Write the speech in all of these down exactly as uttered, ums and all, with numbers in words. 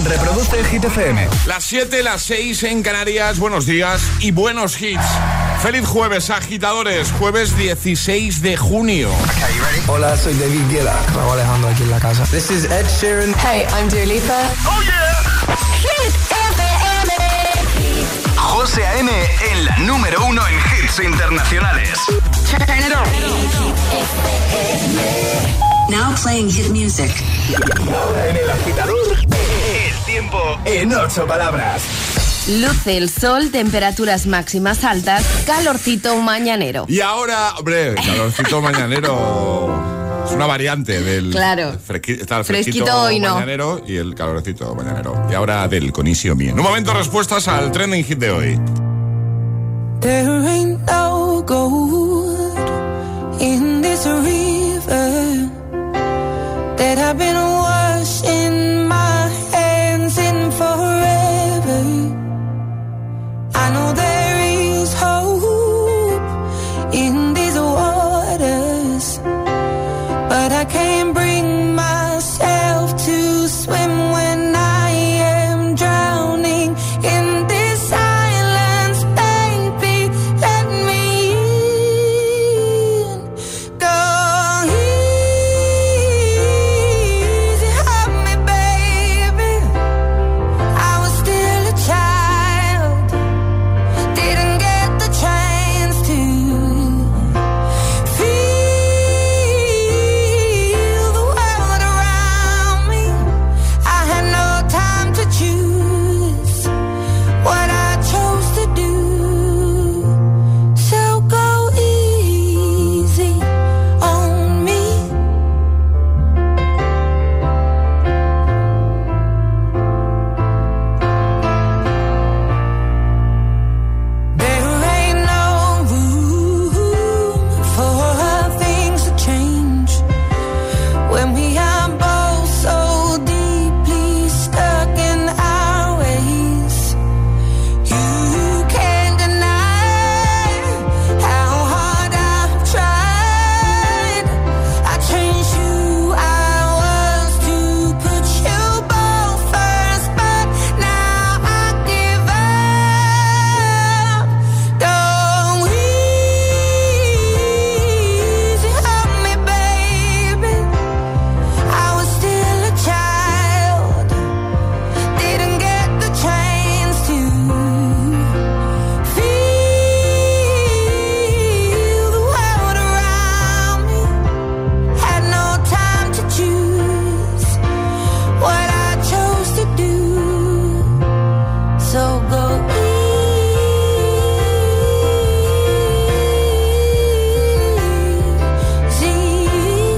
Reproduce Hit F M. Las siete, las seis en Canarias. Buenos días y buenos hits. Feliz jueves, agitadores. Jueves dieciséis de junio. Okay, you ready? Hola, soy David Guetta. Raúl Alejandro aquí en la casa. This is Ed Sheeran. Hey, I'm Dua Lipa. Oh yeah. Hit F M. José A M en la número uno en hits internacionales. Turn it on. Now playing hit music. Ahora en El Agitador, el tiempo en ocho palabras. Luce el sol, temperaturas máximas altas, calorcito mañanero. Y ahora, hombre, calorcito mañanero es una variante del claro. fresqui, está el fresquito, fresquito hoy no. mañanero y el calorcito mañanero. Y ahora del Conisio Mie. En un momento, respuestas al trending hit de hoy. There ain't no gold in this river that I've been washing my hands in forever. I know there is hope in these waters, but I can't bring myself to swim when I am drowning in this silence, baby. Let me in. Go easy, help me, baby. I was still a child, didn't get the chance to feel the world around me. I had no time to choose what I chose to do. So go easy on me. There ain't no room for things to change when we are both so deeply stuck in our ways. You can't deny how hard I've tried. I changed who I was to put you both first, but now I give up. Go easy, help me, baby. I was still a child, didn't get the chance to feel the world around me. Had no time to choose what I chose to do. So go easy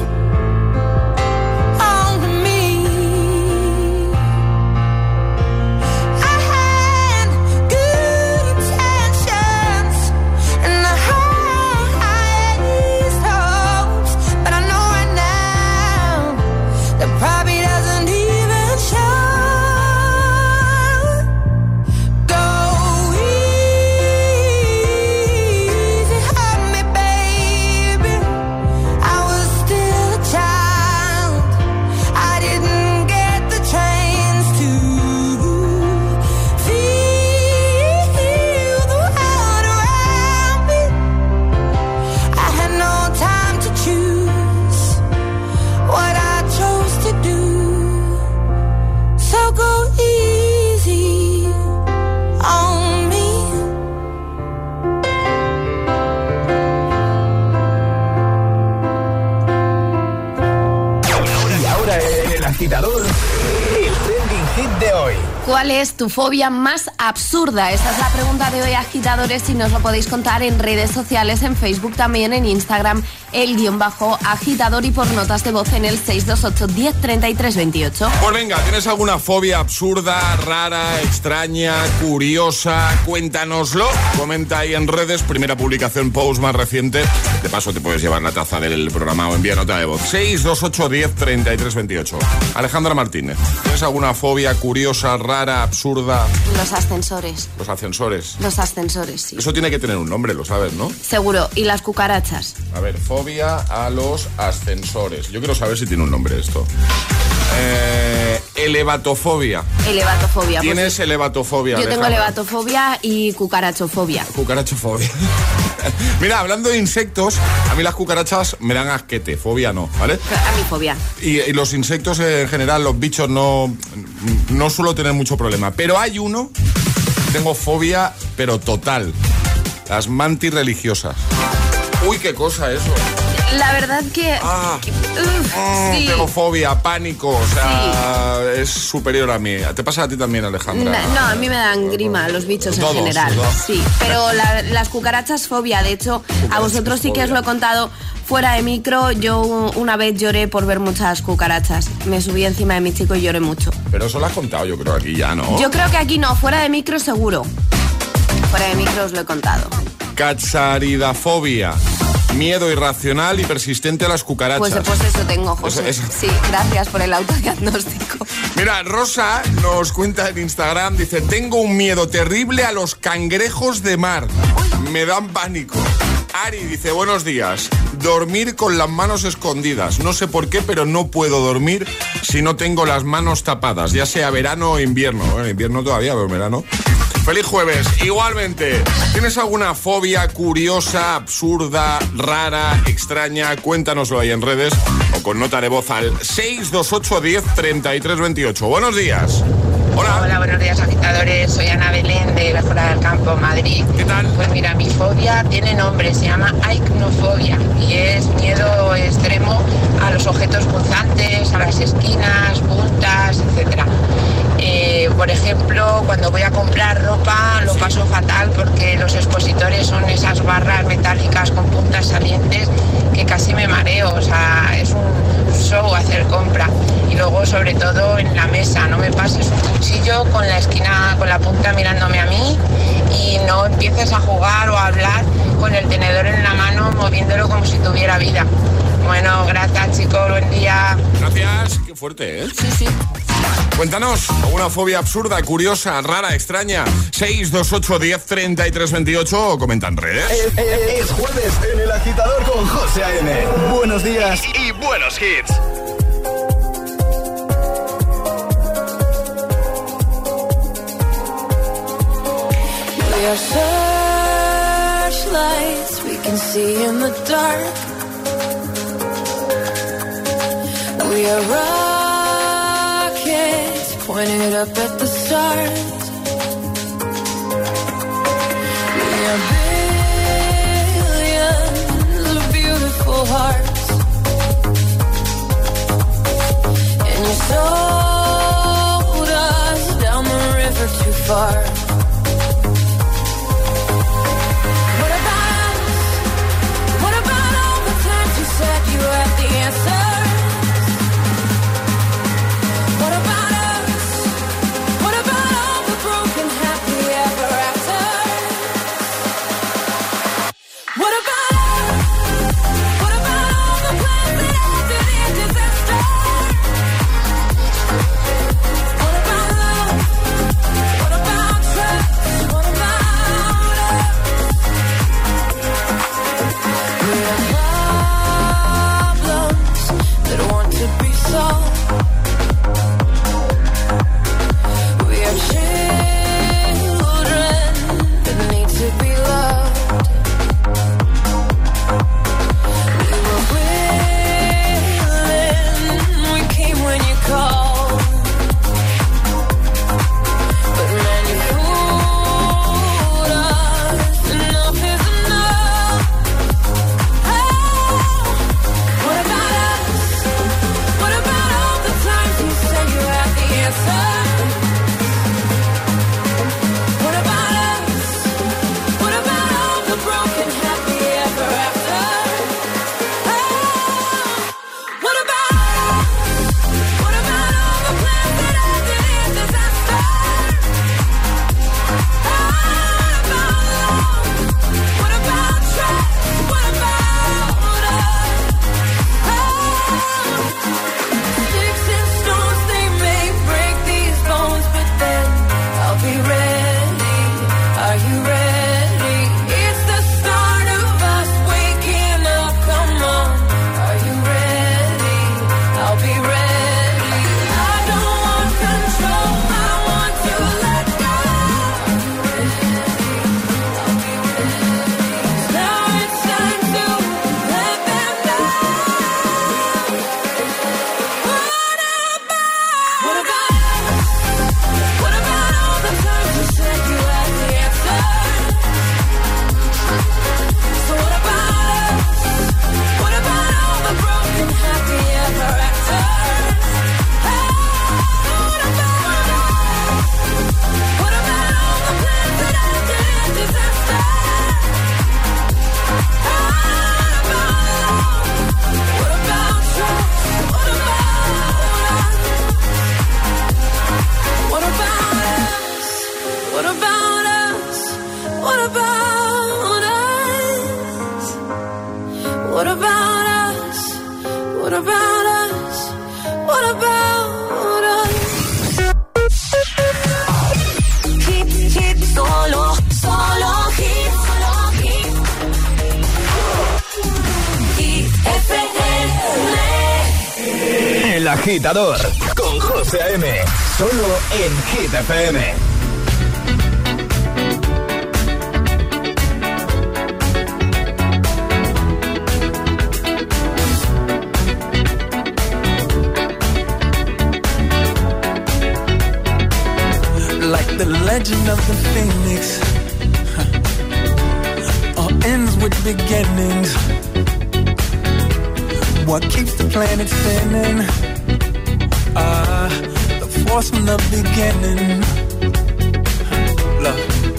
on me. I had good intentions and the highest hopes, but I know right now that probably doesn't even show. Go easy, help me, baby. I was still a child, I didn't get the chance to feel the world around me. I had no time to choose what I chose to do. So go easy on me. Y ahora en El Agitador, el trending hit de hoy. ¿Cuál es tu fobia más absurda? Esa es la pregunta de hoy, agitadores, y nos lo podéis contar en redes sociales, en Facebook, también en Instagram, el guión bajo agitador, y por notas de voz en el seis dos ocho, diez, treinta y tres, veintiocho. Pues venga, ¿tienes alguna fobia absurda, rara, extraña, curiosa? Cuéntanoslo. Comenta ahí en redes, primera publicación, post más reciente. De paso te puedes llevar la taza del programa o envía nota de voz. seis dos ocho, diez, treinta y tres, veintiocho. Alejandra Martínez, ¿tienes alguna fobia curiosa, rara, absurda? Los ascensores. Los ascensores. Los ascensores, sí. Eso tiene que tener un nombre, lo sabes, ¿no? Seguro. Y las cucarachas. A ver, fobia a los ascensores. Yo quiero saber si tiene un nombre esto. Eh, elevatofobia. Elevatofobia. ¿Tienes pues, elevatofobia? Yo tengo Alejandra? elevatofobia y cucarachofobia. Cucarachofobia. Mira, hablando de insectos, a mí las cucarachas me dan asquete, fobia no, ¿vale? A mi fobia. Y, y los insectos en general, los bichos no, no suelo tener mucho problema. Pero hay uno, tengo fobia, pero total. Las mantis religiosas. Uy, qué cosa eso. La verdad que... Ah, Uf, mm, sí. tengo fobia, pánico, o sea, sí. Es superior a mí. ¿Te pasa a ti también, Alejandra? No, no, a mí me dan grima los bichos Todos, en general. todos. Sí, pero la, las cucarachas fobia. De hecho, Cucarachas a vosotros sí que os lo he contado fuera de micro. Yo una vez lloré por ver muchas cucarachas. Me subí encima de mi chico y lloré mucho. Pero eso lo has contado, yo creo, aquí ya, ¿no? Yo creo que aquí no, fuera de micro seguro. Fuera de micro os lo he contado. Cacharidafobia. Miedo irracional y persistente a las cucarachas. Pues, pues eso tengo, José. Eso, eso. Sí, gracias por el autodiagnóstico. Mira, Rosa nos cuenta en Instagram, dice, tengo un miedo terrible a los cangrejos de mar. Me dan pánico. Ari dice, buenos días. Dormir con las manos escondidas. No sé por qué, pero no puedo dormir si no tengo las manos tapadas, ya sea verano o invierno. Bueno, invierno todavía, pero verano. Feliz jueves. Igualmente, ¿tienes alguna fobia curiosa, absurda, rara, extraña? Cuéntanoslo ahí en redes o con nota de voz al seis dos ocho, diez, treinta y tres veintiocho. Buenos días. Hola. Hola, buenos días, agitadores. Soy Ana Belén de Mejora del Campo, Madrid. ¿Qué tal? Pues mira, mi fobia tiene nombre, se llama acnofobia y es miedo extremo a los objetos punzantes, a las esquinas, puntas, etcétera. Eh, por ejemplo, cuando voy a comprar ropa lo paso fatal porque los expositores son esas barras metálicas con puntas salientes que casi me mareo, o sea, es un show hacer compra. Y luego, sobre todo, en la mesa, no me pases un cuchillo con la esquina, con la punta mirándome a mí y no empieces a jugar o a hablar con el tenedor en la mano moviéndolo como si tuviera vida. Bueno, gracias, chicos, buen día. Gracias. Qué fuerte, ¿eh? Sí, sí. Cuéntanos, ¿alguna fobia absurda, curiosa, rara, extraña? seis dos ocho, diez, treinta y tres veintiocho o comenta en redes. Es, es- es jueves en El Agitador con José A M. Buenos días y, y buenos hits. We are searchlights we can see in the dark. We are rockets pointed up at the stars. We are billions of beautiful hearts. And you sold us down the river too far. What about us? What about all the times you said you had the answers? What about us? What about all the broken happy ever afters? What about us? What about all the plans that ended in disaster? What about love? What about trust? agitador con José A M. Solo en Hit F M. Like the legend of the phoenix, huh. All ends with beginnings. What keeps the planet spinning? Ah, uh, the force from the beginning. Huh. Love.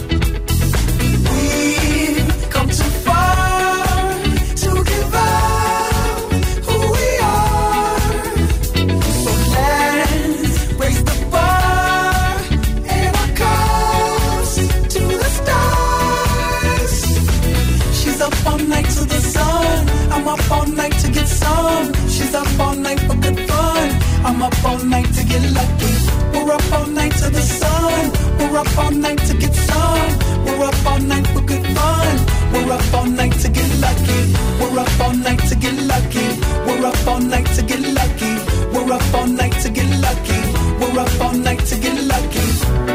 We've come too far to give up who we are. So let's raise the bar and our cups to the stars. She's up all night to the sun. I'm up all night to get some. She's up all night for good fun. I'm up all night to get lucky. We're up all night to the sun. We're up all night to get some. We're up all night for good fun. We're up all night to get lucky. We're up all night to get lucky. We're up all night to get lucky. We're up all night to get lucky. We're up all night to get lucky.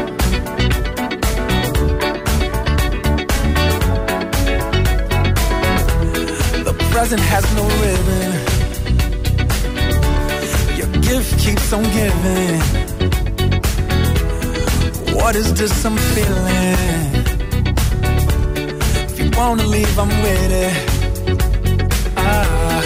Present has no ribbon. Your gift keeps on giving. What is this I'm feeling? If you wanna leave, I'm with it. Ah.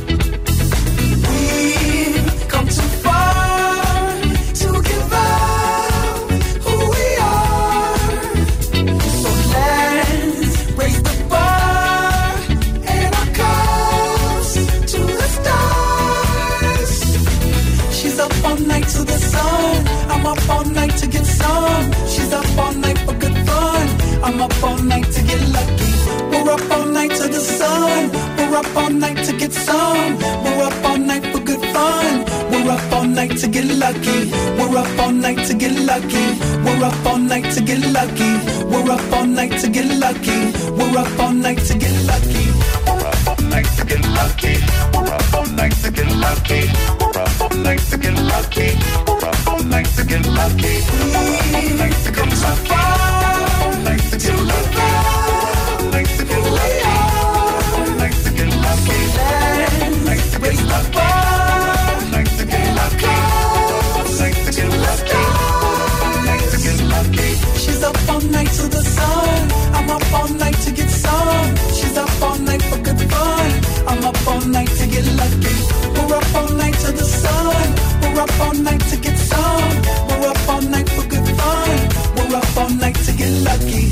We've come too far to give up who we are. So let's raise the bar and our cups to the stars. She's up all night to the sun. I'm up all night to get some. She's up all night for good fun. I'm up all night to get lucky. We're up all night to the sun. We're up all night to get some. We're up all night for good fun. We're up all night to get lucky. We're up all night to get lucky. We're up all night to get lucky. We're up all night to get lucky. We're up all night to get lucky. We're up all night to get lucky. We're up all night to get lucky. We're up all night to get lucky. We're up all night to get lucky. We're up all night to get lucky. All night to get lucky. All night to get lucky. All night to get lucky. All night to get lucky. All night to get lucky. All night to get lucky. All night to get lucky. She's up all night to the sun. I'm up all night to get some. She's up all night for good fun. I'm up all night to get lucky. We're up all night to the sun. We're up all night to get some. We're up all night for good fun. We're up all night to get lucky.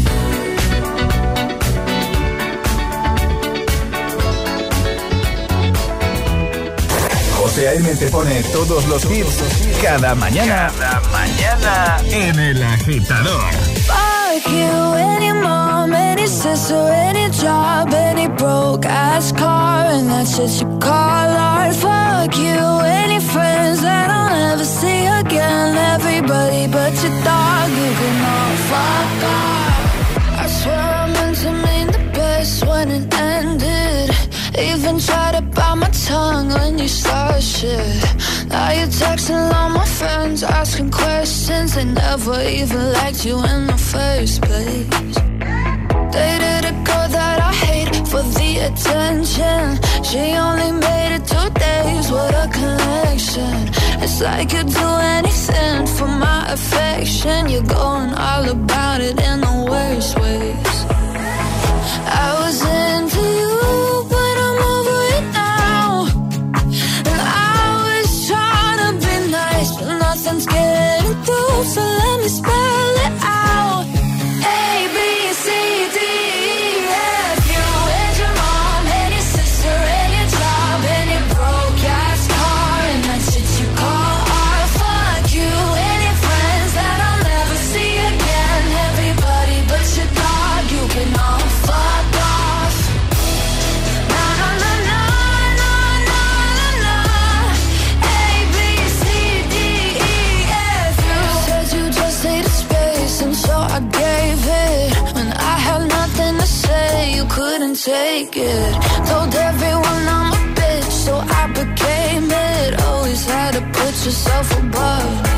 José A M te pone todos los hits cada mañana. Cada mañana en El Agitador. Fuck you, any mom, any sister, any job, any broke ass car, and that's just you call art. Fuck you, any friends that I'll never see again. Everybody but your dog, you can all fuck off. I swear I meant to mean the best when it ended. Even tried to bite my tongue when you started shit. Now you're texting all my friends, asking questions. They never even liked you in the first place. Dated a girl that I hate for the attention. She only made it two days with a connection. It's like you'd do anything for my affection. You're going all about it in the worst ways. I was into you, but I'm over it now. And I was trying to be nice, but nothing's getting through. So let me spell it out. A, B, C, D, E, F, you and your mom, and your sister, and your job, and your broke ass car, and that shit you call art. Fuck you, and your friends that I'll never see again. Everybody but your dog, you can all fuck off. Na na na na na na na na. A, B, C, D, E, F, you said you just needed space, and so I gave it. When I had nothing to say, you couldn't take it. Told everyone I'm a bitch, so I became it. Always had to put push yourself above me.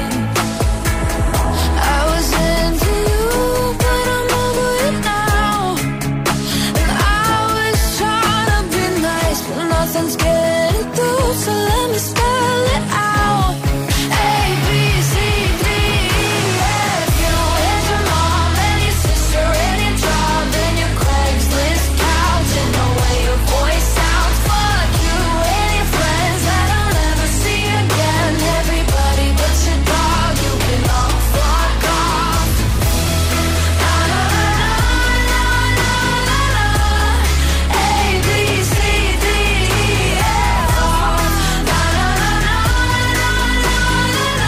I was into you, but I'm over it now. And I was trying to be nice, but nothing's getting through. So let me spell it out. A, B, C, D, E, F. You and your mom and your sister and your job and your Craigslist couch and the way your voice sounds. Fuck you and your friends that I'll never see again. Everybody but your dog, you can all fuck off. Na na na na na na na. A, B, C, D, E, F. Na na na na na na na.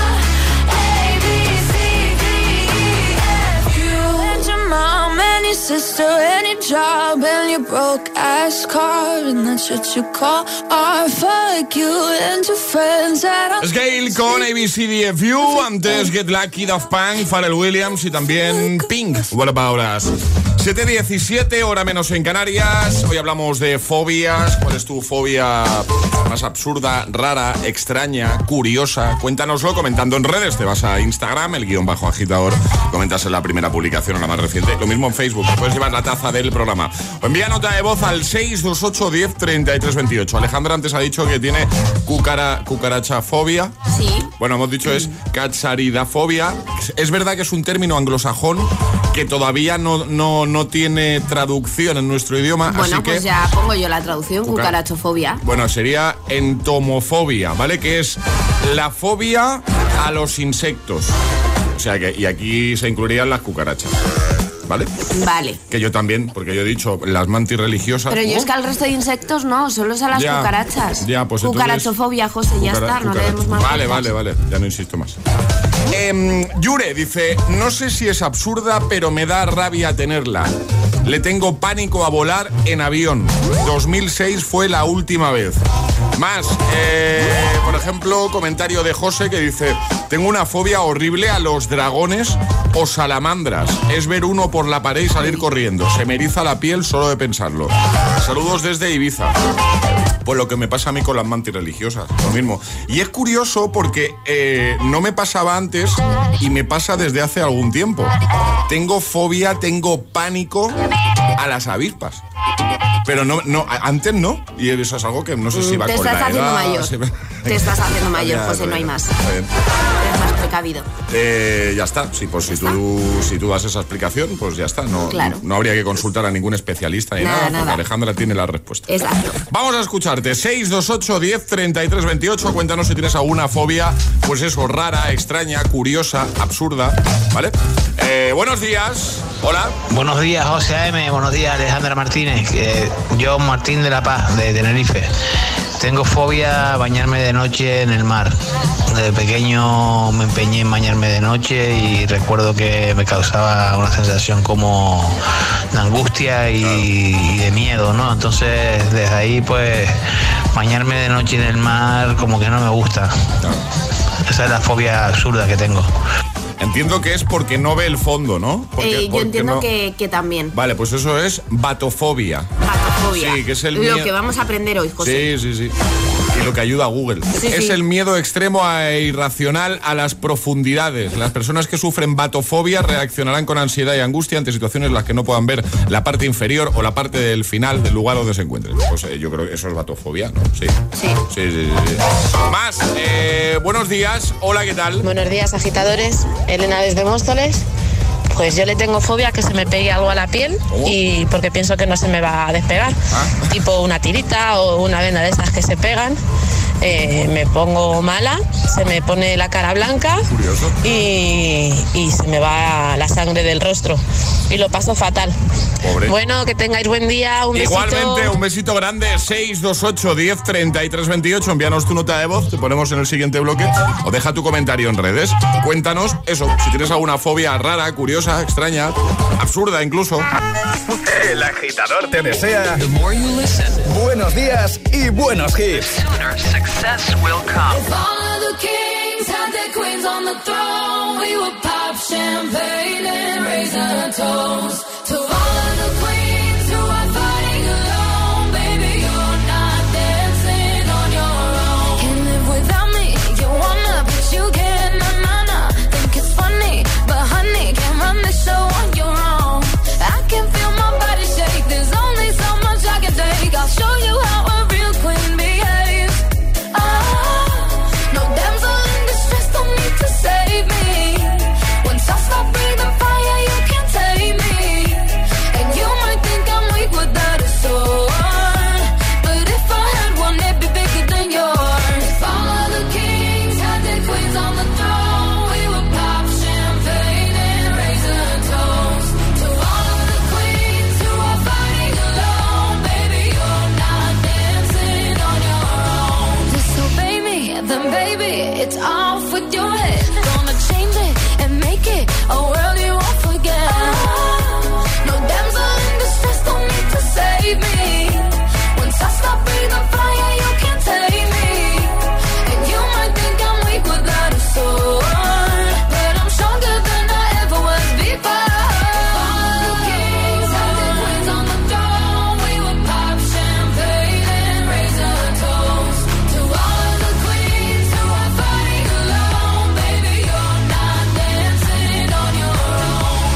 A, B, C, D, E, F. You and your mom and your sister and your job and your broke ass car and that's what you call art. Fuck you and your friends that I'll Scale con A B C D F U, antes Get Lucky, Daft Punk, Pharrell Williams y también Pink. What about us? siete diecisiete, hora menos en Canarias. Hoy hablamos de fobias. ¿Cuál es tu fobia más absurda, rara, extraña, curiosa? Cuéntanoslo comentando en redes. Te vas a Instagram, el guión bajo agitador, comentas en la primera publicación o la más reciente. Lo mismo en Facebook, puedes llevar la taza del programa. O envía nota de voz al seis dos ocho, diez, treinta y tres veintiocho. Alejandra antes ha dicho que tiene cucara, cucarachafobia. Sí. Bueno, hemos dicho es cacharidafobia. Es verdad que es un término anglosajón que todavía no, no, no tiene traducción en nuestro idioma. Bueno, así pues que, ya pongo yo la traducción, Cuca- cucarachofobia. bueno, sería entomofobia, ¿vale? Que es la fobia a los insectos. O sea que, y aquí se incluirían las cucarachas, ¿vale? Vale. Que yo también, porque yo he dicho las mantis religiosas. Pero yo ¿Oh? es que al resto de insectos no, solo es a las Ya, cucarachas. ya, pues entonces- Cucarachofobia, José, ya Cucara- está, no le cucaracha. demos más Vale, vueltas. vale, vale, ya no insisto más. Eh, Yure dice, no sé si es absurda, pero me da rabia tenerla. Le tengo pánico a volar en avión. dos mil seis fue la última vez. Más, eh, por ejemplo, comentario de José que dice, tengo una fobia horrible a los dragones o salamandras. Es ver uno por la pared y salir corriendo. Se me eriza la piel solo de pensarlo. Saludos desde Ibiza. Pues lo que me pasa a mí con las mantis religiosas, lo mismo. Y es curioso porque eh, no me pasaba antes y me pasa desde hace algún tiempo. Tengo fobia, tengo pánico a las avispas. Pero no, no, antes no. Y eso es algo que no sé si va Te con la estás haciendo edad. mayor. si- Te estás haciendo mayor, Ya, José, está no hay bien, más. está bien. Eres más precavido. Eh, ya está, sí, pues si tú, si tú das esa explicación, pues ya está. No, Claro. no, no habría que consultar a ningún especialista ni Nada, nada, porque nada. Alejandra tiene la respuesta. Exacto. Vamos a escucharte. seis dos ocho, diez, treinta y tres veintiocho. Cuéntanos si tienes alguna fobia, pues eso, rara, extraña, curiosa, absurda, ¿vale? Eh, buenos días. Hola. Buenos días, José A M. Buenos días, Alejandra Martínez. Eh, yo, Martín de la Paz, de Tenerife. Tengo fobia a bañarme de noche en el mar. De pequeño me empeñé en bañarme de noche y recuerdo que me causaba una sensación como de angustia y, y de miedo, ¿no? Entonces, desde ahí, pues, bañarme de noche en el mar como que no me gusta. Esa es la fobia absurda que tengo. Entiendo que es porque no ve el fondo, ¿no? Porque, Eh, yo porque entiendo no- que, que también. Vale, pues eso es batofobia. Batofobia. Sí, que es el Lo miedo- que vamos a aprender hoy, José. Sí, sí, sí. Y lo que ayuda a Google. Sí, es sí. el miedo extremo e irracional a las profundidades. Las personas que sufren batofobia reaccionarán con ansiedad y angustia ante situaciones en las que no puedan ver la parte inferior o la parte del final del lugar donde se encuentren. Pues eh, yo creo que eso es batofobia, ¿no? Sí. Sí. Sí, sí, sí, sí. Más, eh, buenos días. Hola, ¿qué tal? Buenos días, agitadores. Elena desde Móstoles. Pues yo le tengo fobia a que se me pegue algo a la piel y porque pienso que no se me va a despegar. Ah. Tipo una tirita o una venda de esas que se pegan. Eh, me pongo mala, se me pone la cara blanca Curioso. y, y se me va la sangre del rostro y lo paso fatal. Pobre. Bueno, que tengáis buen día, un besito. Igualmente, un besito grande. Seis dos ocho, diez, treinta y tres veintiocho. Envíanos tu nota de voz, te ponemos en el siguiente bloque o deja tu comentario en redes. Cuéntanos eso, si tienes alguna fobia rara, curiosa, extraña, absurda incluso. El agitador te desea buenos días y buenos hits. Success will come. If all of the kings had their queens on the throne, we would pop champagne and raise a toast to all of the queens who are fighting alone. Baby, you're not dancing on your own. Can't live without me. You want make it a world you won't forget. No damsel in distress, don't need to save me. Once I stop breathing fire, you can't take me. And you might think I'm weak without a sword, but I'm stronger than I ever was before. All the kings had their queens on the throne. We would pop champagne and raise a toast to all of the queens who are fighting alone. Baby, you're not dancing on your own.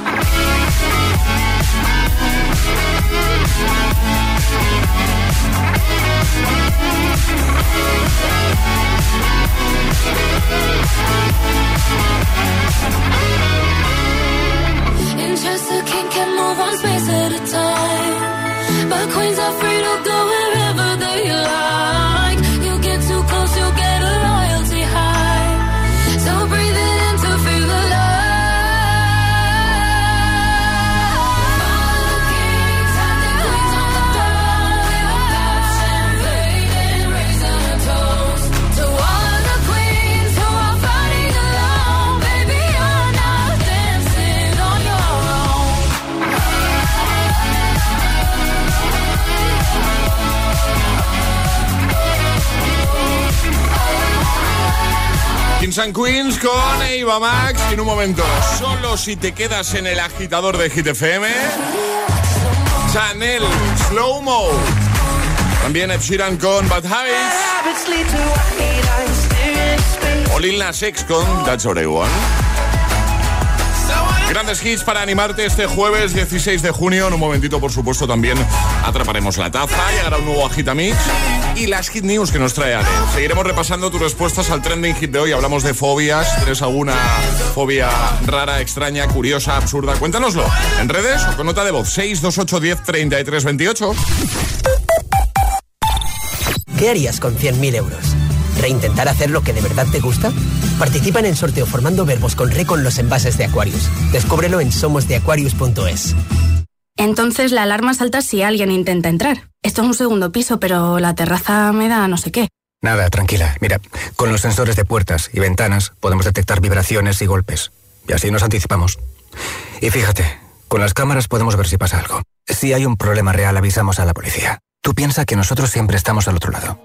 In chess, the king can move one space at a time, but queens are free to go wherever they like. You get too close, you'll get a loyalty high. So breathe it in to feel the love. All the kings had their queens on the throne. We would pop champagne and raise a toast to all of the queens who are fighting alone. Baby, you're not dancing on your own. Kings and Queens con Eva Max. Y en un momento, solo si te quedas en el agitador de Hit F M, Chanel, Slow Mo. También Ed Sheeran con Bad Habits. O Lil Nas X con That's What I Want. Grandes hits para animarte este jueves dieciséis de junio. En un momentito, por supuesto, también atraparemos la taza. Llegará un nuevo Agitamix y las Hit News que nos trae Ale. Seguiremos repasando tus respuestas al trending hit de hoy. Hablamos de fobias. ¿Tienes alguna fobia rara, extraña, curiosa, absurda? Cuéntanoslo en redes o con nota de voz. seis dos ocho uno cero tres tres dos ocho. ¿Qué harías con cien mil euros? ¿Reintentar hacer lo que de verdad te gusta? Participa en el sorteo formando verbos con re con los envases de Aquarius. Descúbrelo en somos de aquarius punto es. Entonces la alarma salta si alguien intenta entrar. Esto es un segundo piso, pero la terraza me da no sé qué. Nada, tranquila. Mira, con los sensores de puertas y ventanas podemos detectar vibraciones y golpes. Y así nos anticipamos. Y fíjate, con las cámaras podemos ver si pasa algo. Si hay un problema real, avisamos a la policía. Tú piensa que nosotros siempre estamos al otro lado.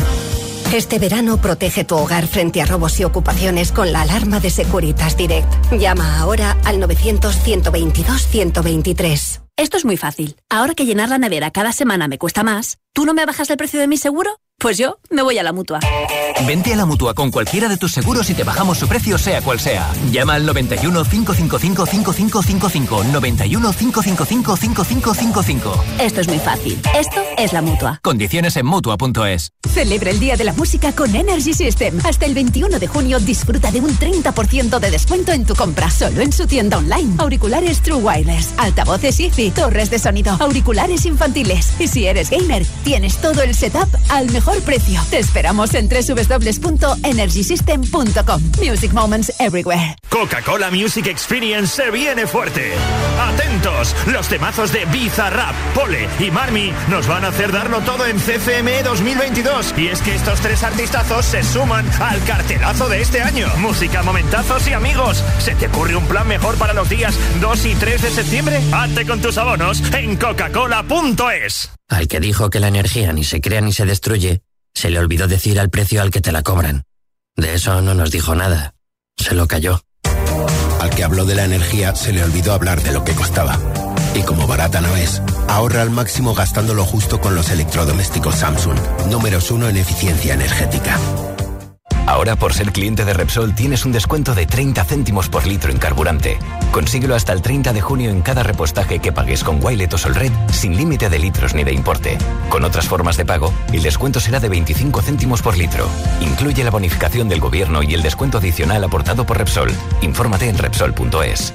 Este verano protege tu hogar frente a robos y ocupaciones con la alarma de Securitas Direct. Llama ahora al novecientos, ciento veintidós, ciento veintitrés. Esto es muy fácil. Ahora que llenar la nevera cada semana me cuesta más, ¿tú no me bajas el precio de mi seguro? Pues yo me voy a la Mutua. Vente a la Mutua con cualquiera de tus seguros y te bajamos su precio sea cual sea. Llama al noventa y uno, cinco cinco cinco, cinco cinco cinco cinco, noventa y uno, cinco cinco cinco, cinco cinco cinco cinco. Esto es muy fácil. Esto es la Mutua. Condiciones en Mutua punto es. Celebra el Día de la Música con Energy System. Hasta el veintiuno de junio disfruta de un treinta por ciento de descuento en tu compra solo en su tienda online. Auriculares True Wireless, altavoces Easy, torres de sonido, auriculares infantiles. Y si eres gamer, tienes todo el setup al mejor precio. Te esperamos en doble u doble u doble u punto energy system punto com. Music Moments Everywhere. Coca-Cola Music Experience se viene fuerte. Atentos, los temazos de Bizarrap, Pole y Marmi nos van a hacer darlo todo en C C M dos mil veintidós. Y es que estos tres artistazos se suman al cartelazo de este año. Música, momentazos y amigos. ¿Se te ocurre un plan mejor para los días dos y tres de septiembre? Hazte con tus abonos en coca cola punto es. Al que dijo que la energía ni se crea ni se destruye, se le olvidó decir al precio al que te la cobran. De eso no nos dijo nada. Se lo cayó. Al que habló de la energía se le olvidó hablar de lo que costaba. Y como barata no es, ahorra al máximo gastando lo justo con los electrodomésticos Samsung. Números uno en eficiencia energética. Ahora, por ser cliente de Repsol, tienes un descuento de treinta céntimos por litro en carburante. Consíguelo hasta el treinta de junio en cada repostaje que pagues con Wilet o Solred, sin límite de litros ni de importe. Con otras formas de pago, el descuento será de veinticinco céntimos por litro. Incluye la bonificación del gobierno y el descuento adicional aportado por Repsol. Infórmate en Repsol punto es.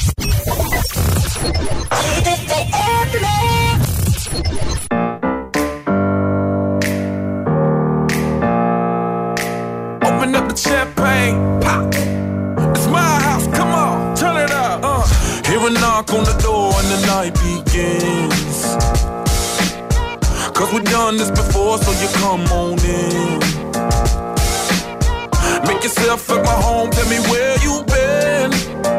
Open up the champagne, pop. It's my house, come on, turn it up. Uh. Hear a knock on the door and the night begins. Cause we've done this before, so you come on in. Make yourself at my home, tell me where you been.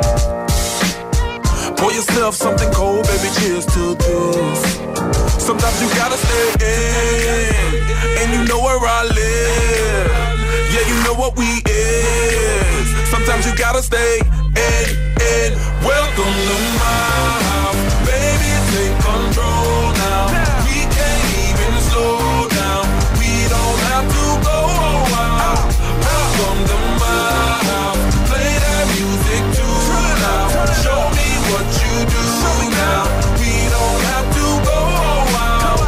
yourself something cold, baby, cheers to this. Sometimes you gotta stay in, and you know where I live. Yeah, you know what we is. Sometimes you gotta stay in, in. Welcome to my house, baby, take control now. We can't even slow down. We don't have to go out. Welcome to my house, play that music too loud. Show me what you do now. We don't have to go out.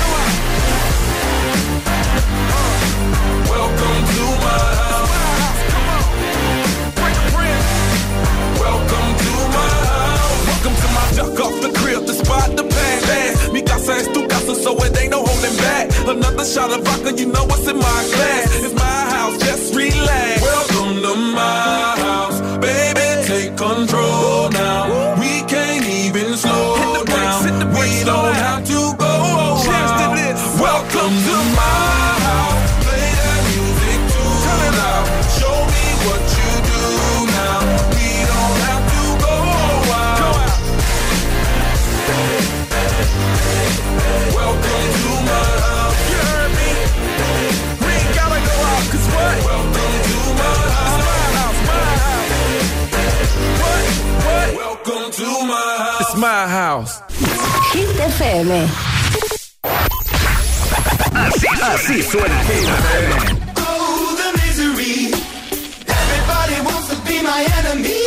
Welcome to my house. Welcome to my house. Welcome to my duck off the crib, the spot, the pan, pan. Mi casa es tu casa, so it ain't no holding back. Another shot of vodka, you know what's in my glass. It's my house, just relax. Welcome to my house, baby, take control now. We can't even slow down. We don't have to go out. Welcome to my house, play that music too loud. Show me what you do now. We don't have to go out. Welcome to my house. You heard me? We ain't gotta go out, cause what? Welcome to my house. It's my house, my house. What? What? Welcome to my house. It's my house. Hit F M. Así, así suena Hit F M. Oh, the misery. Everybody wants to be my enemy.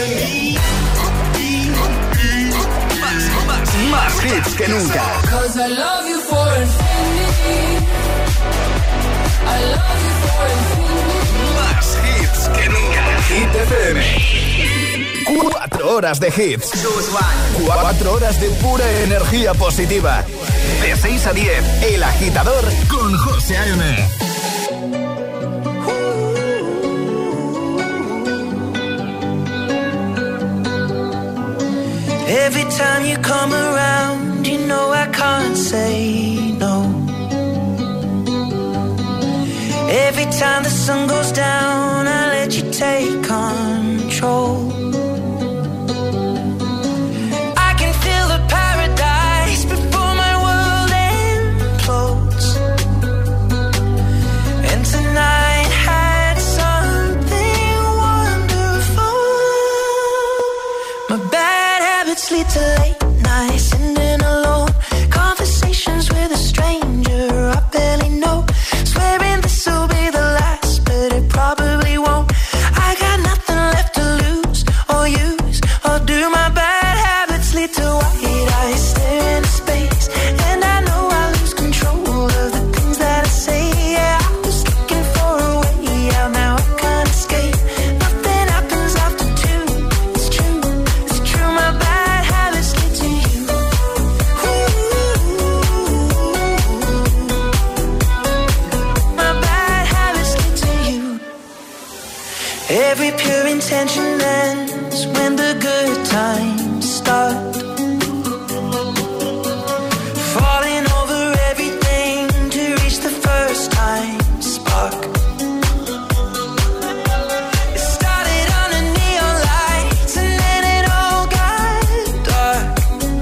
Más, más, más hits que nunca. Cause I love you for infinity. I love you for infinity. Más hits que nunca. Hit F M. Cuatro horas de hits. Cuatro horas de pura energía positiva. De seis a diez, El Agitador con José A M. Every time you come around, you know I can't say no. Every time the sun goes down, I let you take control. I can feel the paradise before my world implodes. And tonight had something wonderful. My bad habits lead to late nights, sitting alone. Conversations with a stranger I barely know. Swearing this will be the last, but it probably won't. I got nothing left to lose or use or do. My bad habits lead to white eyes stare into space, and I know I lose control of the things that I say. Yeah, I was looking for a way out, now I can't escape. Nothing happens after two. It's true, it's true. My bad habits lead to you. My bad habits lead to you. Every pure intention ends when the good times start. Falling over everything to reach the first time spark. It started under neon lights and then it all got dark.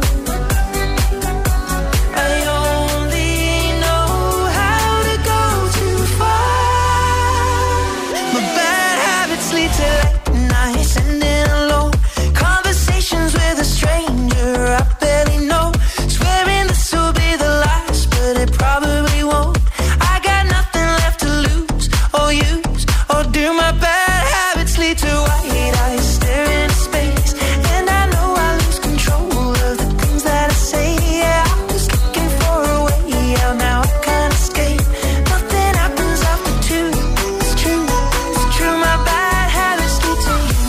I only know how to go too far. My bad habits lead to late nights, sitting alone. Conversations with a stranger I barely know. Swearing this will be the last, but it probably won't. I got nothing left to lose or use or do. My bad habits lead to white eyes staring into space, and I know I lose control of the things that I say. Yeah, I was looking for a way out, now I can't escape. Nothing happens after two. It's true, it's true. My bad habits lead to you.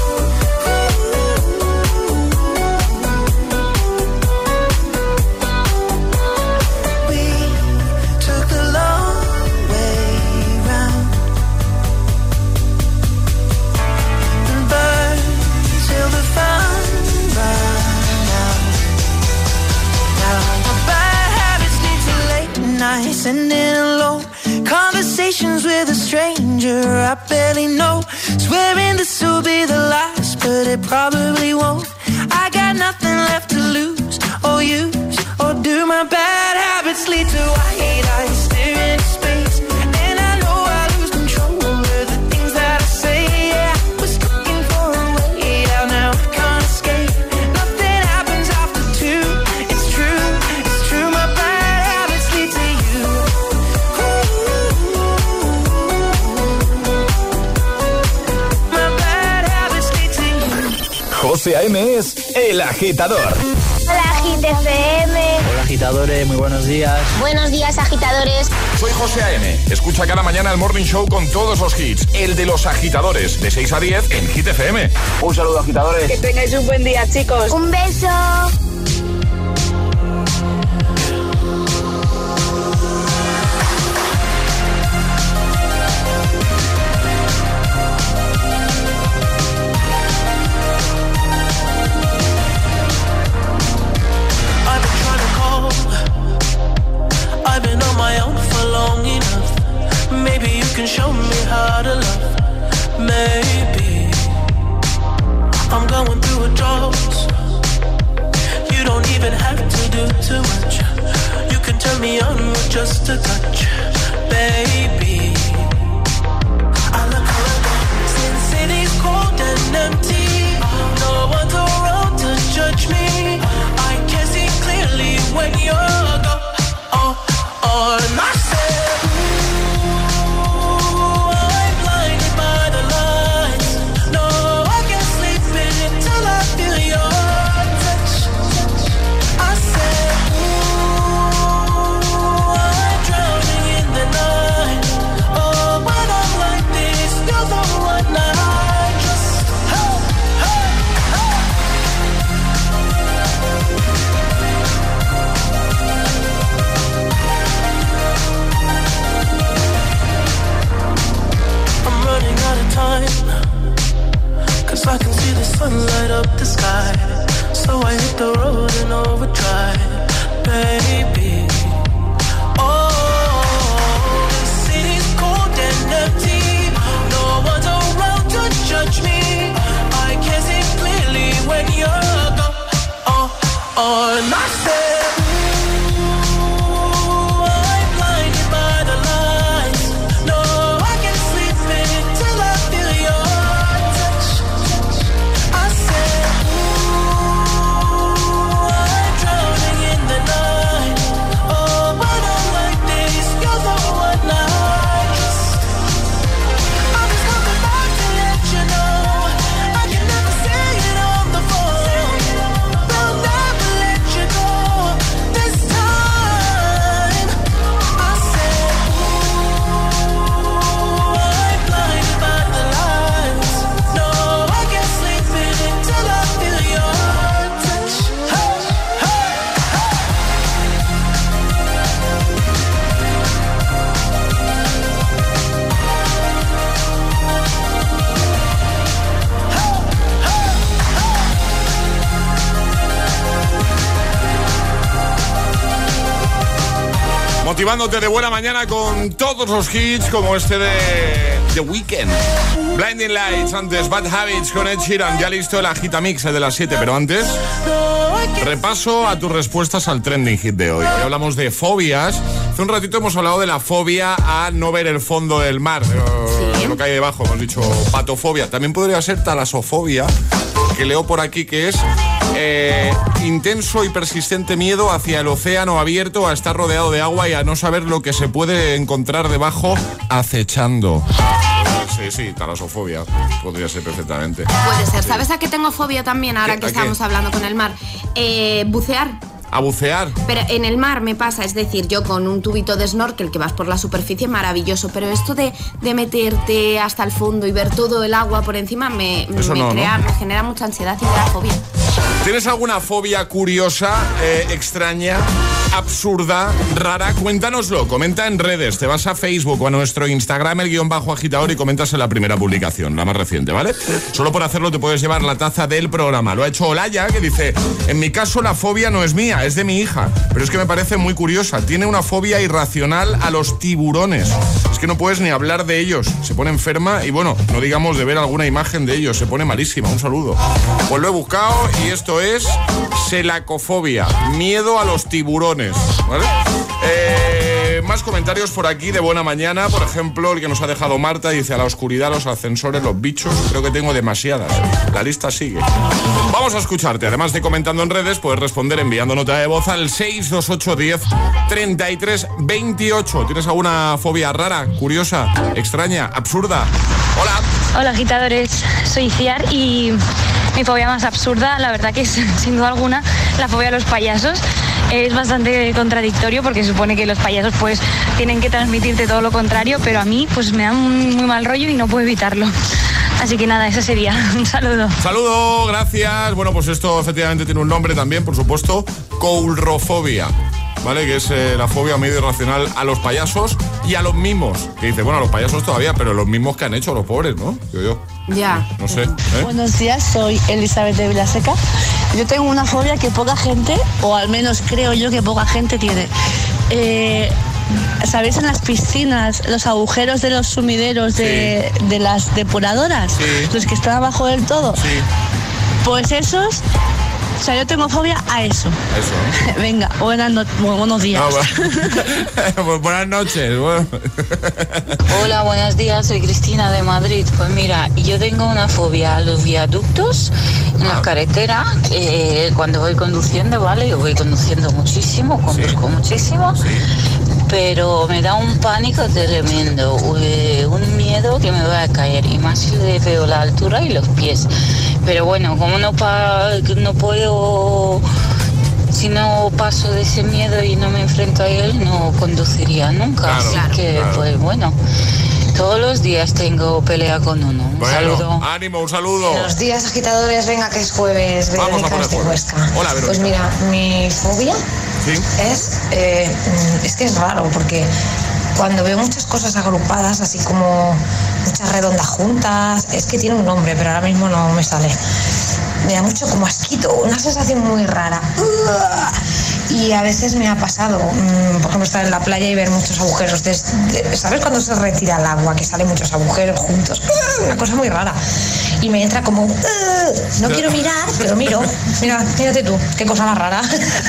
We took the long way round and burned till the fun ran out. Now my bad habits lead to late nights, sitting alone. Conversations with a stranger I barely know. Swearing this will be the last, but it probably won't. I got nothing José A.M. es El Agitador. Hola, Agit F M. Hola, agitadores, muy buenos días. Buenos días, agitadores. Soy José A.M. Escucha cada mañana el Morning Show con todos los hits. El de los agitadores, de seis a diez en Hit F M. Un saludo, agitadores. Que tengáis un buen día, chicos. Un beso. Maybe you can show me how to love. Maybe I'm going through a drought. You don't even have to do too much. You can turn me on with just a touch, baby. I look around since city's cold and empty. No one's around to judge me. I can see clearly when you're gone. Oh, oh, and I said. Cause I can see the sun light up the sky. So I hit the road in overdrive, baby. Oh, the city's cold and empty. No one's around to judge me. I can see clearly when you're gone. Oh, oh, and I said motivándote de buena mañana con todos los hits como este de The Weeknd. Blinding Lights, antes Bad Habits con Ed Sheeran. Ya listo el Agitamix, el de las siete, pero antes repaso a tus respuestas al trending hit de hoy. Hoy hablamos de fobias. Hace un ratito hemos hablado de la fobia a no ver el fondo del mar, sí. Lo que hay debajo, hemos dicho patofobia. También podría ser talasofobia, que leo por aquí que es eh, intenso y persistente miedo hacia el océano abierto, a estar rodeado de agua y a no saber lo que se puede encontrar debajo acechando. Sí, sí, talasofobia. Podría ser perfectamente. Puede ser. Sí. ¿Sabes a qué tengo fobia también ahora que estamos hablando con el mar? Eh, bucear. A bucear. Pero en el mar me pasa, es decir, yo con un tubito de snorkel que vas por la superficie, maravilloso, pero esto de, de meterte hasta el fondo y ver todo el agua por encima me, me, no, crea, ¿no? me genera mucha ansiedad y me da fobia. ¿Tienes alguna fobia curiosa, eh, extraña, absurda, rara? Cuéntanoslo, comenta en redes, te vas a Facebook o a nuestro Instagram, el guión bajo agitador, y comentas en la primera publicación, la más reciente, ¿vale? Solo por hacerlo te puedes llevar la taza del programa. Lo ha hecho Olaya, que dice, en mi caso la fobia no es mía, es de mi hija, pero es que me parece muy curiosa. Tiene una fobia irracional a los tiburones. Es que no puedes ni hablar de ellos, se pone enferma y bueno, no digamos de ver alguna imagen de ellos, se pone malísima. Un saludo. Pues lo he buscado y esto es selacofobia, miedo a los tiburones, ¿vale? Eh, más comentarios por aquí de buena mañana. Por ejemplo, el que nos ha dejado Marta dice, a la oscuridad, los ascensores, los bichos, creo que tengo demasiadas. La lista sigue. Vamos a escucharte. Además de comentando en redes, puedes responder enviando nota de voz al seis dos ocho uno cero treinta y tres veintiocho. ¿Tienes alguna fobia rara, curiosa, extraña, absurda? Hola. Hola, agitadores. Soy Ciar y mi fobia más absurda, la verdad que es, sin duda alguna, la fobia a los payasos. Es bastante contradictorio porque se supone que los payasos pues tienen que transmitirte todo lo contrario, pero a mí pues me da un muy mal rollo y no puedo evitarlo. Así que nada, ese sería. Un saludo. Saludo, gracias. Bueno, pues esto efectivamente tiene un nombre también, por supuesto, coulrofobia, ¿vale? Que es eh, la fobia medio irracional a los payasos y a los mimos. Que dice, bueno, a los payasos todavía, pero los mimos que han hecho los pobres, ¿no? Yo, yo. Ya. No sé. ¿eh? Buenos días, soy Elizabeth de Vilaseca. Yo tengo una fobia que poca gente, o al menos creo yo que poca gente tiene. Eh, ¿Sabéis en las piscinas los agujeros de los sumideros de, sí. de las depuradoras? Sí. Los que están abajo del todo. Sí. Pues esos... O sea, yo tengo fobia a eso. Eso. Venga, buenas no buenos días. Ah, bueno. Buenas noches. Bueno. Hola, buenos días. Soy Cristina de Madrid. Pues mira, yo tengo una fobia a los viaductos en la carretera. Eh, cuando voy conduciendo, ¿vale? Yo voy conduciendo muchísimo, conduzco sí. muchísimo. Sí. Pero me da un pánico tremendo, un miedo que me voy a caer, y más si le veo la altura y los pies. Pero bueno, como no, pa no puedo, si no paso de ese miedo y no me enfrento a él, no conduciría nunca. Claro, Así claro, que, claro. pues bueno, todos los días tengo pelea con uno. Un bueno, saludo. Ánimo, un saludo. Buenos días, agitadores. Venga, que es jueves. Vamos a poner de Huesca. Hola, Verónica. Pues mira, mi fobia ¿Sí? es, eh, es que es raro, porque cuando veo muchas cosas agrupadas, así como muchas redondas juntas, es que tiene un nombre, pero ahora mismo no me sale. Me da mucho como asquito, una sensación muy rara. Y a veces me ha pasado, por ejemplo, estar en la playa y ver muchos agujeros. De, de, ¿Sabes cuando se retira el agua, que salen muchos agujeros juntos? Una cosa muy rara. Y me entra como... No quiero mirar, pero miro. Mira, mírate tú, qué cosa más rara.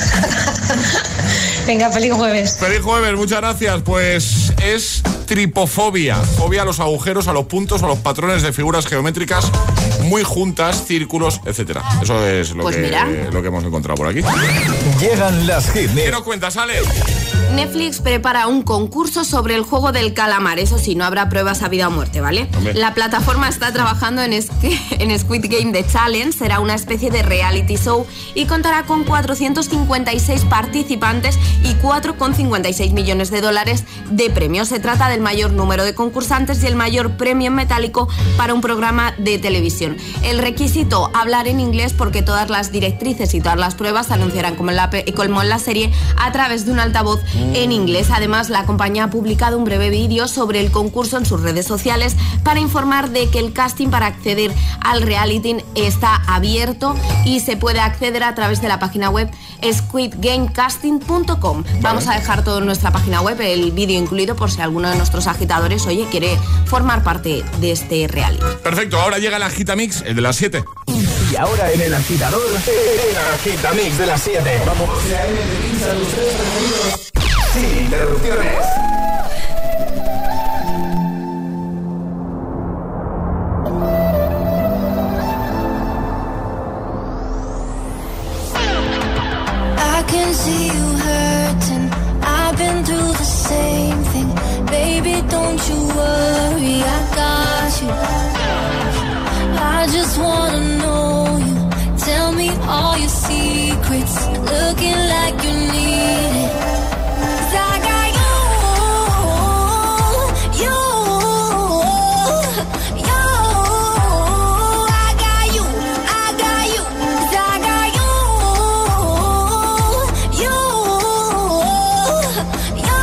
Venga, feliz jueves. Feliz jueves, muchas gracias. Pues es tripofobia. Fobia a los agujeros, a los puntos, a los patrones de figuras geométricas muy juntas, círculos, etcétera. Eso es lo, pues que, lo que hemos encontrado por aquí. Llegan las hit. ¿Qué nos cuentas, Ale? Netflix prepara un concurso sobre el juego del calamar. Eso sí, no habrá pruebas a vida o muerte, ¿vale? Hombre. La plataforma está trabajando en, en Squid Game The Challenge. Será una especie de reality show y contará con cuatrocientos cincuenta y seis participantes y cuatro coma cincuenta y seis millones de dólares de premios. Se trata del mayor número de concursantes y el mayor premio en metálico para un programa de televisión. El requisito, hablar en inglés, porque todas las directrices y todas las pruebas se anunciarán como en la, como en la serie a través de un altavoz en inglés. Además, la compañía ha publicado un breve vídeo sobre el concurso en sus redes sociales para informar de que el casting para acceder al reality está abierto y se puede acceder a través de la página web squid game casting punto com. Vale. Vamos a dejar todo en nuestra página web, el vídeo incluido, por si alguno de nuestros agitadores, oye, quiere formar parte de este reality. Perfecto, ahora llega el Agitamix, el de las siete. Y ahora en el agitador, el Agitamix de las siete. Vamos. Sin interrupciones. I can see you hurting. I've been through the same thing. Baby, don't you worry, I got you. I just wanna know you. Tell me all your secrets. Looking like you need it. 'Cause I got you, you, you. I got you, I got you. 'Cause I got you, you, you.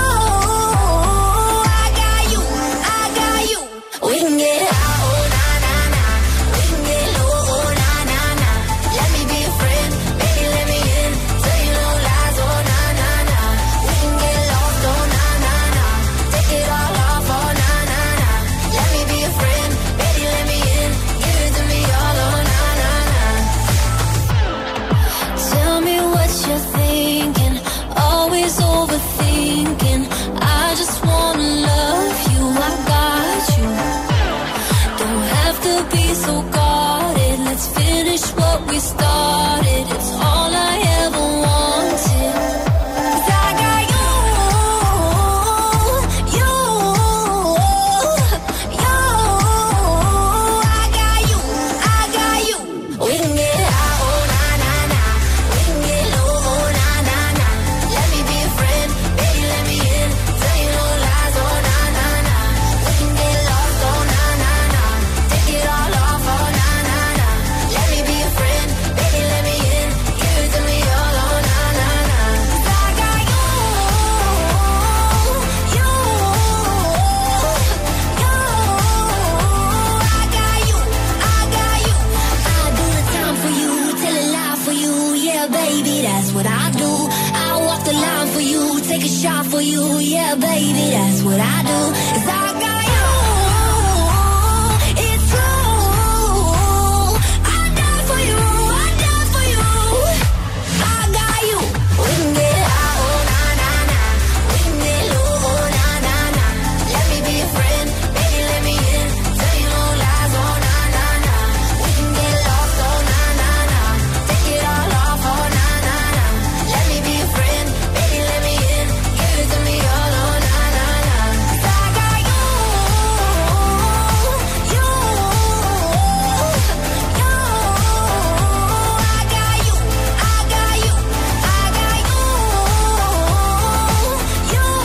I got you, I got you. We can get high, oh na na na. We can get low, oh na na na. Let me be your friend, baby, let me in. Tell you no lies, oh na na na. We can get lost, oh na na na. Take it all off, oh na na na. Let me be your friend, baby, let me in. Give it to me all, oh na na na. Tell me what you're thinking, always overthinking. I just wanna love you, I got you. Don't have to be so guarded. Let's finish what we started. It's all I ever wanted. 'Cause I got you, you, you. I got you, I got you. We can get what I do. I walk the line for you, take a shot for you, yeah, baby, that's what I do. 'Cause I got you, it's true. I die for you, I die for you. I got you. We can get high, oh na na na. We can get low, oh na na na. Let me be a friend, baby, let me in. Tell you no lies, oh na na na. We can get lost, oh na na na. Take it all off, oh na na na. Let me be a friend, baby, let me in. Give it to me all, oh na na na. 'Cause I got you, you, you. I got you, I got you, I got you, you, you.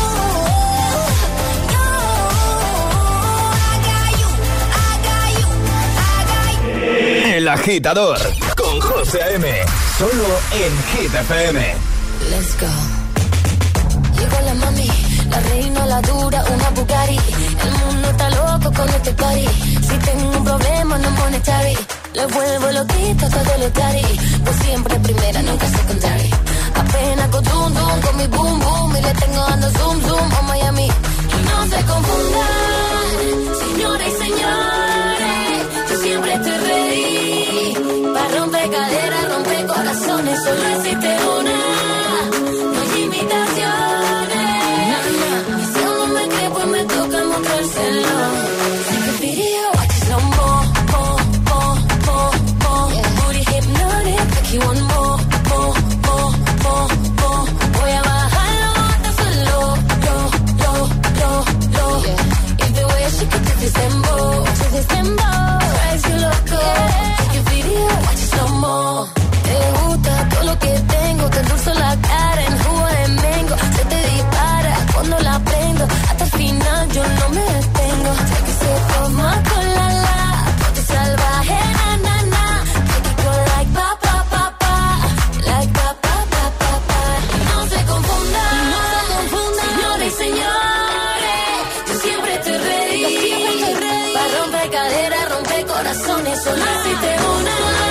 I got you, I got you, I got you. El Agitador con José A M. Solo en Hit F M. Let's go. Llegó la mami, la reina, la dura, una Bugatti. El mundo está loco con este party. Si tengo un problema, no monetary. Le vuelvo loquita todo lo cari. Pues siempre primera, nunca secondary. Apenas con zoom zoom, con mi boom boom. Y le tengo dando zoom zoom a Miami. Y no se confundan, señoras y señores. Yo siempre estoy ready. Pa' romper caderas, romper corazones. Solo existe una. No hay imitaciones. Y si aún no me cree, pues me toca mostrárselo. Take a video, watch it slow mo, mo, mo, mo, mo. Booty hypnotic, make you want more, more, more, more, more. Voy a bajarlo hasta solo, lo, lo, lo, lo. If the way she could do this dembow, to this dembow, drives you loco. Take a video, watch it slow mo. Te gusta todo lo que tengo, te endulzo la cara en jugo de mango. Se te dispara cuando la prendo, hasta el final yo no me detengo. Take a sip of my colada, ponte salvaje, na, na, na. Take it go like pa, pa, pa, pa, like pa, pa, pa, pa, pa. No se confundan, no se confundan, señores y señores. Yo siempre estoy ready, yo siempre estoy ready. Pa' romper caderas, romper corazones, solo existe una.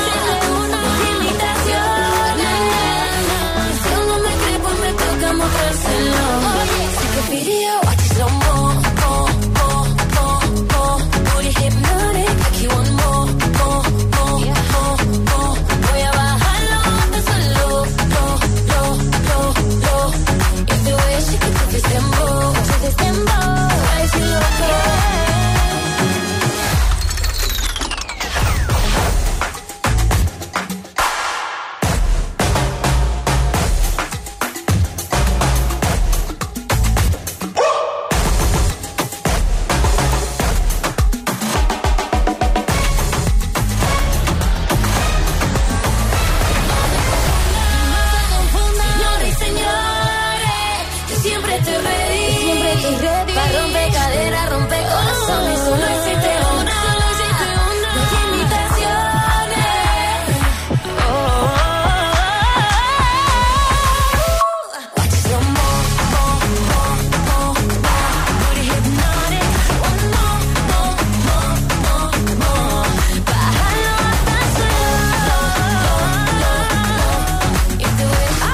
Take a video, watch it slow mo, mo, mo, mo, mo. Booty hypnotic, make you want more, more, more, more, more. Voy a bajarlo hasta solo, lo, lo, lo, lo. If the way she could do this dembow, to this dembow, drives you loco. Señores y señores, yo siempre estoy ready, siempre estoy ready. Pa' romper caderas, romper corazones, solo existe una, solo existe una. No hay imitaciones. Oh, oh, oh. Watch it slow mo, mo, mo, mo, mo. Booty hypnotic, one more, more, more, more, more. Bájalo hasta solo, lo, lo, lo. If the way she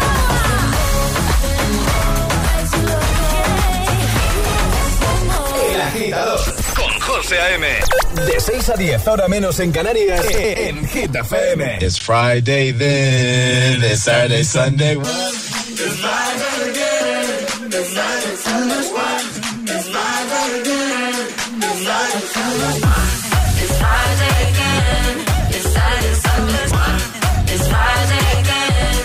El Agitador con José A M. De seis a diez, hora menos en Canarias, en Hit F M. It's Friday then, it's Saturday, Sunday. It's Friday again. It's Friday, Sunday. It's Friday again. It's Friday, Sunday. It's Friday again. It's Saturday, Sunday. It's Friday again.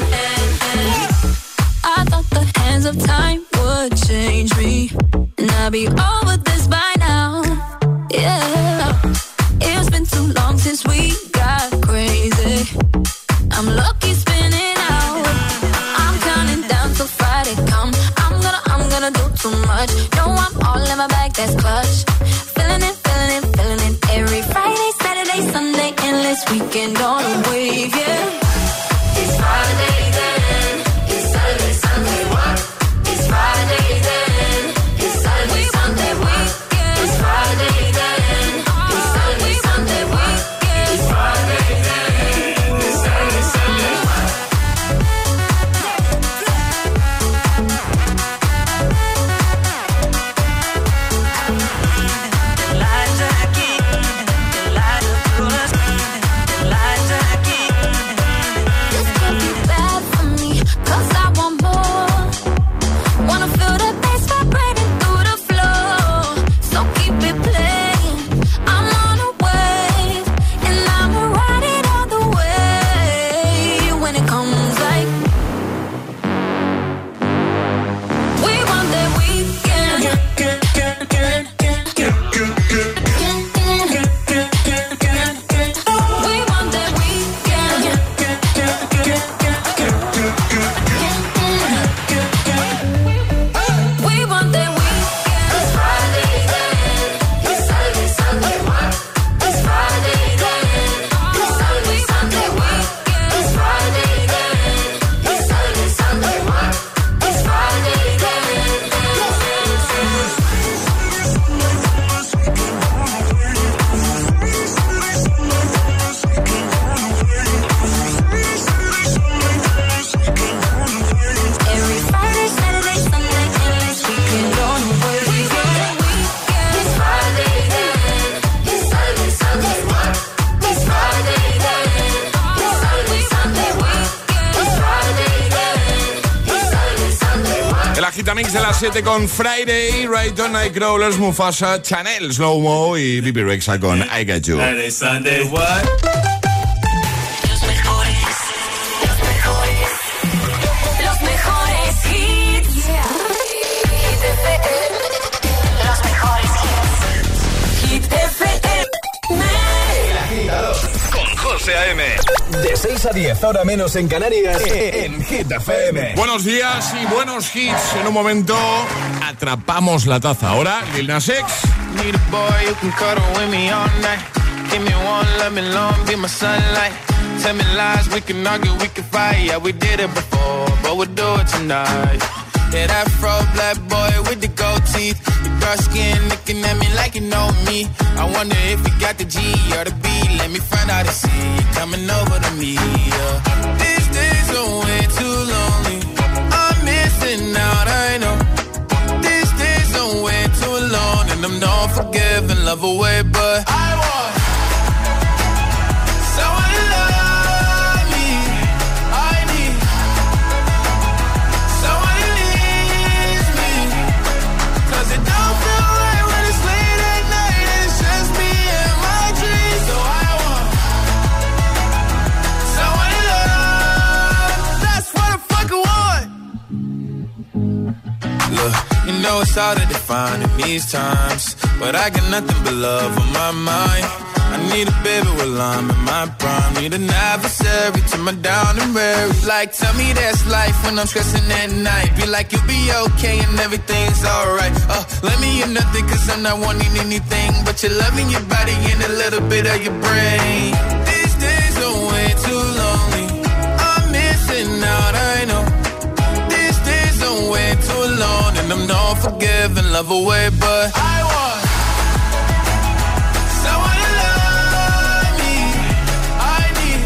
I thought the hands of time would change me, and I'd be over this by now. Yeah, it's been too long since we got crazy. I'm lucky spinning out. I'm counting down till Friday come. I'm gonna, I'm gonna do too much. No, I'm all in my bag, that's clutch. Feeling it, feeling it, feeling it. Every Friday, Saturday, Sunday, endless weekend on a wave, yeah. It's Friday then. It's Saturday, Sunday. It's Friday then. It's Saturday, Sunday. It's Friday then. It's Saturday, Sunday. It's Friday then. It's Saturday, Sunday. Mix de las siete con Friday, Rayton, Nightcrawlers, Mufasa, Chanel, Slow Mo y Bibi Rexha con I Got You. Friday, Sunday, what? Los mejores, los mejores, los mejores hits. Yeah. Hit F M. Los mejores hits. Hit F M. El Agitador con José A M. De seis a diez, hora menos en Canarias, en Hit F M. Buenos días y buenos hits. En un momento atrapamos la taza. Ahora, Lil Nas X. Need a boy who can cuddle with me all night. Give me one, let me long, be my sunlight. Tell me lies, we can argue, we can fight. Yeah, we did it before, but we'll do it tonight. Yeah, that fro black boy with the gold teeth. The dark skin looking at me like you know me. I wonder if you got the G or the B. Let me find out and see you coming over to me. Yeah. These days are way too lonely. I'm missing out, I know. These days are way too alone. And I'm not forgiving, love away, but I want someone to love me. I need someone who needs me. Cause it don't feel right when it's late at night and it's just me and my dreams. So I want someone to love. That's what I fucking want. Look, you know it's hard to define in these times, but I got nothing but love on my mind. I need a baby while I'm in my prime. Need an adversary to my down and weary. Like, tell me that's life when I'm stressing at night. Be like, you'll be okay and everything's alright. Uh, let me in nothing cause I'm not wanting anything but your love in your body and a little bit of your brain. These days are way too lonely. I'm missing out, I know. These days are way too alone. And I'm not forgiving, love away, but I want someone to love me. I need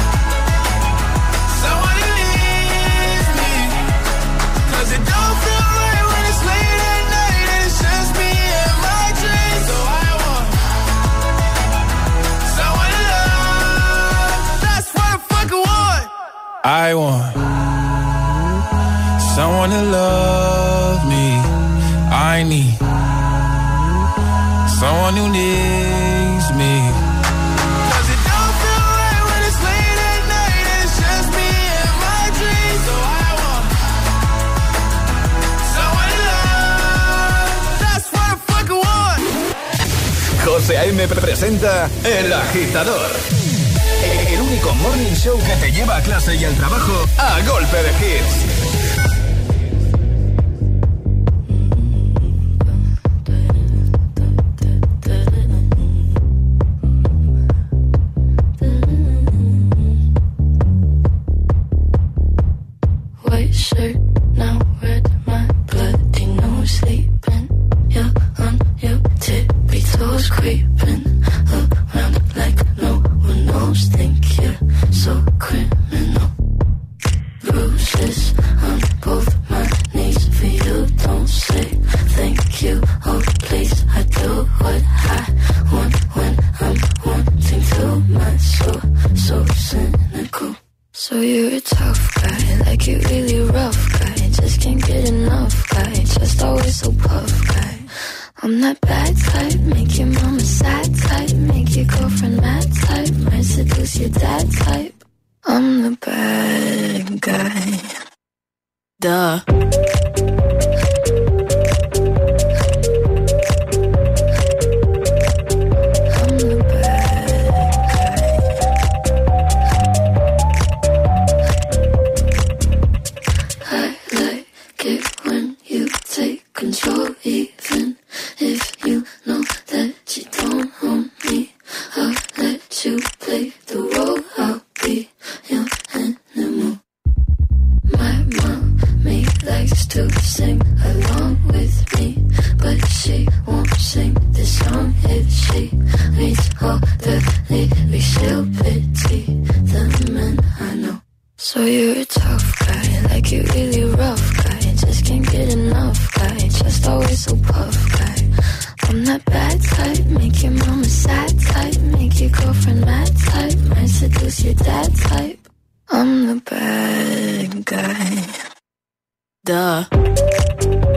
someone who needs me. Cause it don't feel right when it's late at night and it's just me and my dreams. So I want someone to love. That's what I fucking want. I want someone to love me. I need someone who needs me. Cause it don't feel right when it's late at night and it's just me and my dreams. So I want someone to love. That's what I fucking want. José A M presenta El Agitador. El único morning show que te lleva a clase y al trabajo a golpe de hits. White shirt, now red, my bloody nose sleeping. You're on your tippy toes, creeping around like no one knows. Think you're so criminal. Bruises on both my knees for you. Don't say thank you. Oh please, I do what I want when I'm wanting to. My soul so cynical. So you're a tough guy, like you really rough guy. Just can't get enough guy, just always so puff guy. I'm that bad type, make your mama sad type. Make your girlfriend mad type, might seduce your dad type. I'm the bad guy. Duh. Control, even if you know that you don't own me. I'll let you play the role. I'll be your animal. My mommy likes to sing along with me, but she won't sing this song if she reads all the lyrics. She'll pity the men I know. So you're a tough guy, like you really rough guy. Just can't get enough guy, just always so puff guy. I'm that bad type, make your mama sad type. Make your girlfriend mad type, might seduce your dad type. I'm the bad guy. Duh.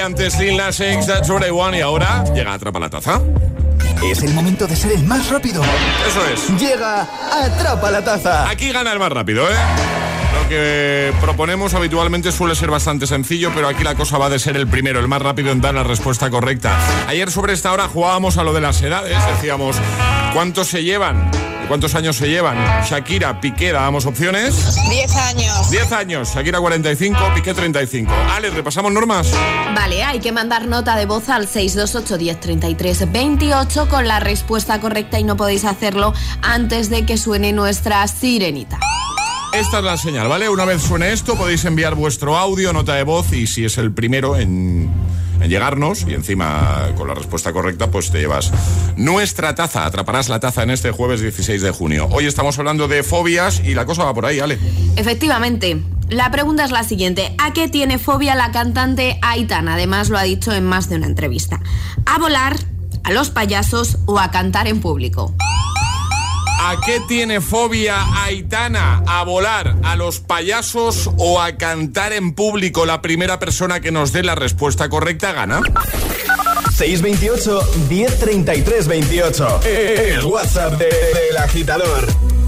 antes Lil Nas X, That's What I Want, y ahora llega Atrapa la Taza. Es el momento de ser el más rápido. Eso es. Llega Atrapa la Taza. Aquí gana el más rápido, ¿eh? Lo que proponemos habitualmente suele ser bastante sencillo, pero aquí la cosa va de ser el primero, el más rápido en dar la respuesta correcta. Ayer sobre esta hora jugábamos a lo de las edades. Decíamos, ¿cuántos se llevan? ¿Cuántos años se llevan? Shakira, Piqué, dábamos opciones. diez años. diez años. Shakira cuarenta y cinco, Piqué treinta y cinco. Ale, ¿repasamos normas? Vale, hay que mandar nota de voz al seis dos ocho, diez, treinta y tres, veintiocho con la respuesta correcta y no podéis hacerlo antes de que suene nuestra sirenita. Esta es la señal, ¿vale? Una vez suene esto, podéis enviar vuestro audio, nota de voz, y si es el primero en, en llegarnos, y encima con la respuesta correcta, pues te llevas nuestra taza. Atraparás la taza en este jueves dieciséis de junio. Hoy estamos hablando de fobias y la cosa va por ahí, Ale. Efectivamente. La pregunta es la siguiente. ¿A qué tiene fobia la cantante Aitana? Además lo ha dicho en más de una entrevista. ¿A volar, a los payasos o a cantar en público? ¿A qué tiene fobia Aitana? ¿A volar, a los payasos o a cantar en público? La primera persona que nos dé la respuesta correcta gana. seis veintiocho, diez, treinta y tres, veintiocho. El WhatsApp de, del agitador.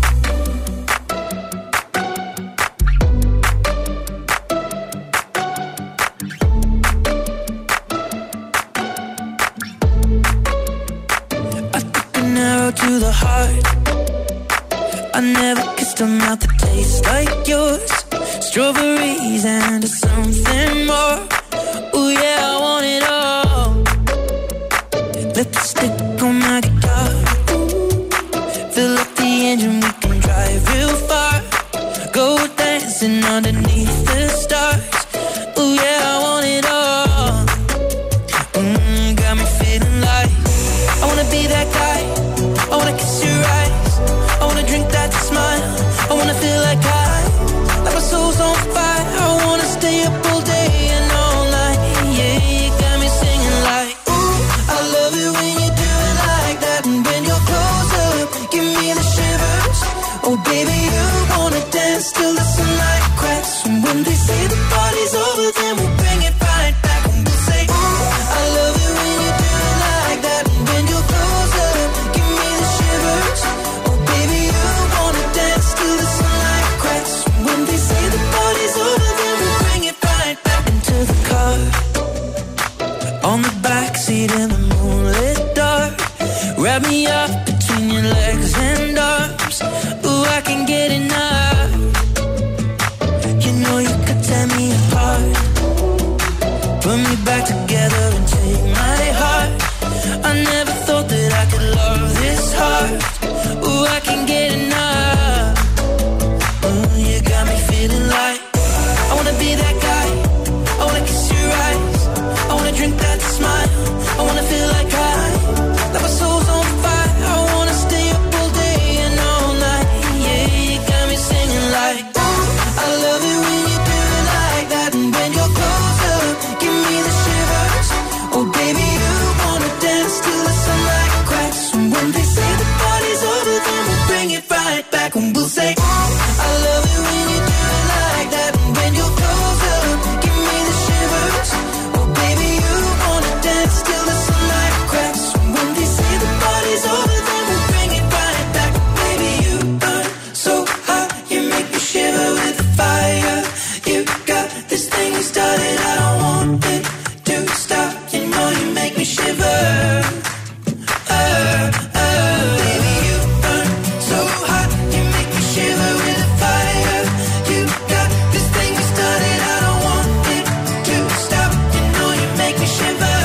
To the heart, I never kissed a mouth that tastes like yours. Strawberries and something more. Ooh yeah, I want it all. Lipstick on my guitar. Fill up the engine, we can drive real far. Go dancing underneath the stars. Ooh yeah, I want it all. Mm, got me feeling like I wanna be that guy. I wanna kiss your eyes. I wanna drink that smile. I wanna feel like I, like my soul's on fire. I wanna stay up all day and all night. Yeah, you got me singing like, ooh, I love it when you do it like that. And when you're close up, give me the shivers. Oh baby, you wanna dance till the sunlight cracks. And when they say the party's over, then we'll bring it right back. And we'll say, ooh, I love it when you do it like that. And when you're close up, give me the shivers. Oh baby, you wanna dance till the sunlight cracks. When they say the party's over, then we'll bring it right back into the car. On the backseat in the moonlit dark. Wrap me up between your legs and arms. Ooh, I can get enough. You know you could tear me apart. Put me back together and take my heart. I never thought that I could love this hard. Ooh, I can get enough. Ooh, you got me feeling like I wanna be that guy. I wanna kiss your eyes. I wanna drink that smile. I wanna feel like I, like my soul's on fire. I wanna stay up all day and all night. Yeah, you got me singing like, ooh, I love it when you do it like that. And when you're close up, give me the shivers. Oh baby, you wanna dance till the sunlight cracks. And when they say the party's over, then we'll bring it right back. And we'll say, ooh, I love it when you do it like that. And when you're close up, give me the shivers. Oh baby, you wanna dance till the sunlight cracks. And when they say the party's over, then we'll bring it right back. Baby, you burn so hot, you make me shiver with the fire. You got this thing you started, I don't want it to stop. You know you make me shiver. Uh, uh, baby, you burn so hot, you make me shiver with the fire. You got this thing you started, I don't want it to stop. You know you make me shiver.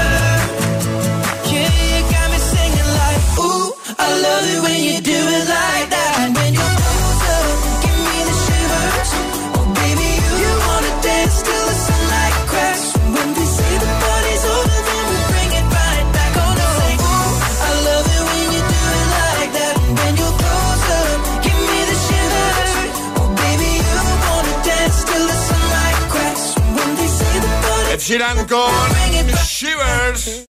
Yeah, you got me singing like, ooh, I love it when you do it like that. And when you're close up, give me the shivers. Oh baby, you, you wanna dance till the sunlight cracks. When they say the party's over, then we'll bring it right back. Oh no, say, ooh, I love it when you do it like that. And when you're close up, give me the shivers. Oh baby, you wanna dance till the sunlight cracks. When they say the party's Ed Sheeran con Shivers.